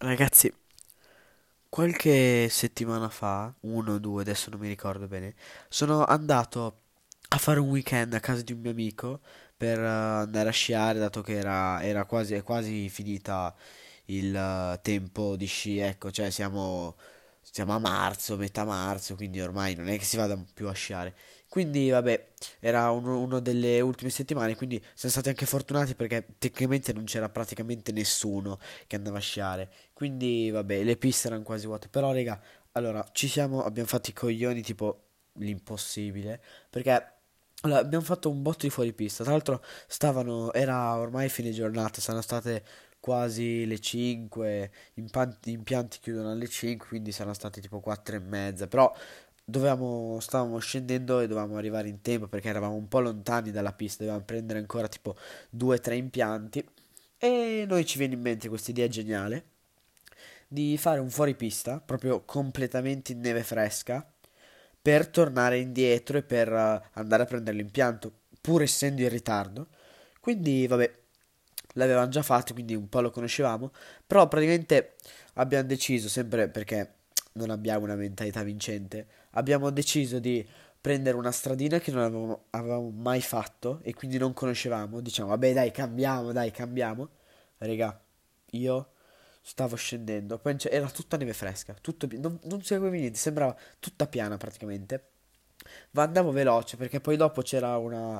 Ragazzi, qualche settimana fa, uno o due, adesso non mi ricordo bene, sono andato a fare un weekend a casa di un mio amico per andare a sciare, dato che era quasi, è quasi finita il tempo di sci, ecco, cioè siamo a marzo, metà marzo, quindi ormai non è che si vada più a sciare. Quindi, vabbè, era uno delle ultime settimane, quindi siamo stati anche fortunati perché tecnicamente non c'era praticamente nessuno che andava a sciare. Quindi, vabbè, le piste erano quasi vuote. Però, raga, allora, abbiamo fatto i coglioni tipo l'impossibile. Perché allora, abbiamo fatto un botto di fuoripista. Tra l'altro, era ormai fine giornata, saranno state quasi le 5. Gli impianti chiudono alle 5, quindi saranno state tipo 4 e mezza. Però stavamo scendendo e dovevamo arrivare in tempo perché eravamo un po' lontani dalla pista. Dovevamo prendere ancora tipo 2 o 3 impianti. E noi ci viene in mente questa idea geniale di fare un fuoripista, proprio completamente in neve fresca, per tornare indietro e per andare a prendere l'impianto, pur essendo in ritardo. Quindi, vabbè, l'avevamo già fatto, quindi un po' lo conoscevamo, però praticamente abbiamo deciso, sempre perché non abbiamo una mentalità vincente, abbiamo deciso di prendere una stradina che non avevamo mai fatto e quindi non conoscevamo. Diciamo, vabbè, dai, cambiamo, dai, cambiamo. Raga, io stavo scendendo, poi era tutta neve fresca, non seguivi niente, sembrava tutta piana praticamente. Ma andavo veloce perché poi dopo c'era una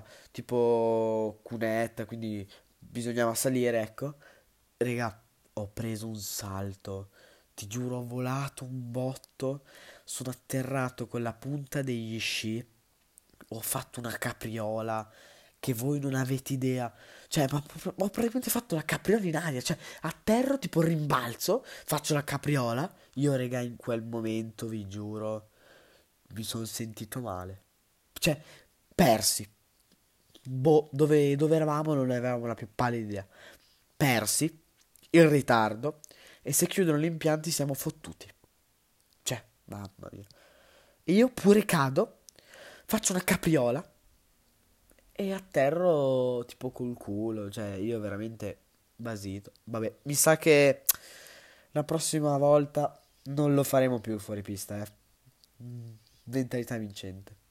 tipo cunetta, quindi bisognava salire, ecco. Raga, ho preso un salto, ti giuro, ho volato un botto, sono atterrato con la punta degli sci, ho fatto una capriola che voi non avete idea. Cioè, ho praticamente fatto la capriola in aria, cioè, atterro tipo rimbalzo, faccio la capriola. Io, raga, in quel momento, vi giuro, mi sono sentito male. Cioè, persi. Boh, dove eravamo non ne avevamo la più pallida idea. Persi, in ritardo, e se chiudono gli impianti siamo fottuti. Cioè, mamma mia. E io pure cado, faccio una capriola e atterro tipo col culo. Cioè, io veramente basito. Vabbè, mi sa che la prossima volta non lo faremo più fuori pista, eh. Mentalità vincente.